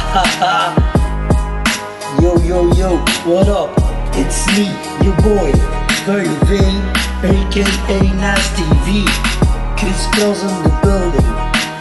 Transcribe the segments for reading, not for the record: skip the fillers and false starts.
Yo, yo, yo, what up? It's me, your boy, Verve, aka Nasty V. Chris Cross in the building.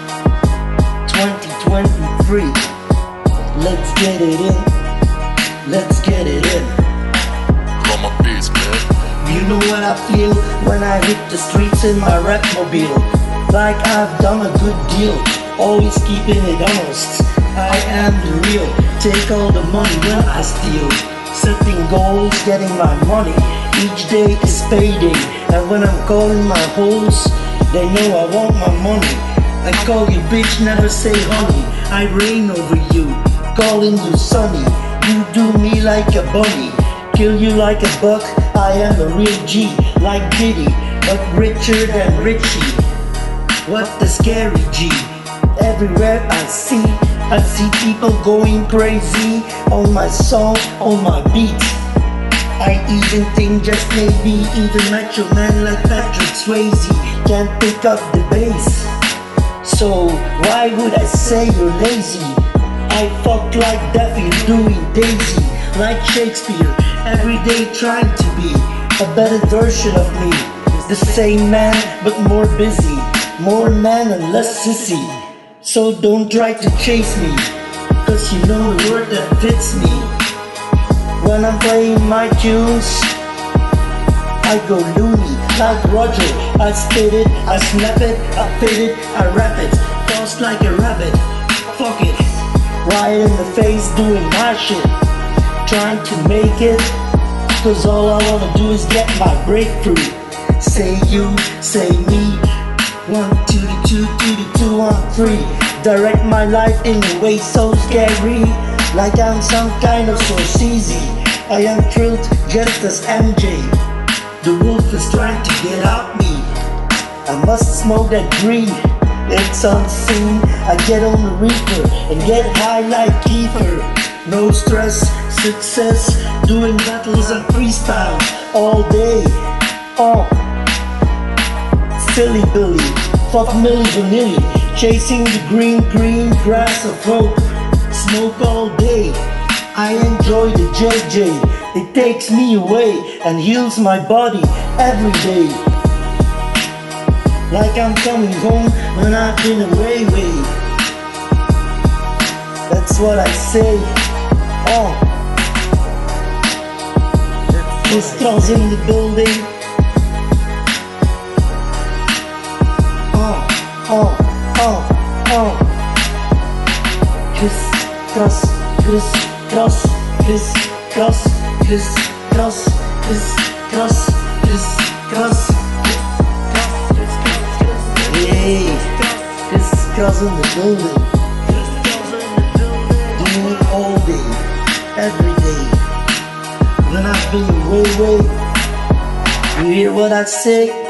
2023. Let's get it in. Let's get it in. Got my beats, man. You know what I feel when I hit the streets in my rap mobile. Like I've done a good deal, always keeping it honest. I am the real, take all the money when I steal. Setting goals, getting my money, each day is payday. And when I'm calling my hoes, they know I want my money. I call you bitch, never say honey. I reign over you, calling you sonny. You do me like a bunny, kill you like a buck. I am a real G, like Diddy, but richer than Richie. What the scary G? Everywhere I see people going crazy on my song, on my beat. I even think just maybe even macho man like Patrick Swayze can't pick up the bass. So why would I say you're lazy? I fuck like Daffy doing Daisy, like Shakespeare, every day trying to be a better version of me. The same man but more busy, more man and less sissy. So don't try to chase me, cause you know the word that fits me. When I'm playing my tunes, I go loony like Roger. I spit it, I snap it, I fit it, I rap it, tossed like a rabbit. Fuck it, right in the face doing my shit, trying to make it, cause all I wanna do is get my breakthrough. Say you, say me, 1, 2, 2, 2, 2, 1, 3. Direct my life in a way so scary, like I'm some kind of Scorsese. I am thrilled just as MJ. The wolf is trying to get out me. I must smoke that green, it's unseen. I get on the reaper and get high like Kiefer. No stress, success, doing battles and freestyle all day. Silly Billy, fuck Milli Vanilli, chasing the green grass of hope. Smoke all day, I enjoy the JJ. It takes me away and heals my body every day. Like I'm coming home when I've been away. That's what I say. Chris Cross in the building. Chris Cross, Chris Cross, Chris Cross, Chris Cross, Chris Cross, Chris Cross. Hey, Chris Cross in the building. Doing it all day, every day. When I've been away. You hear what I say?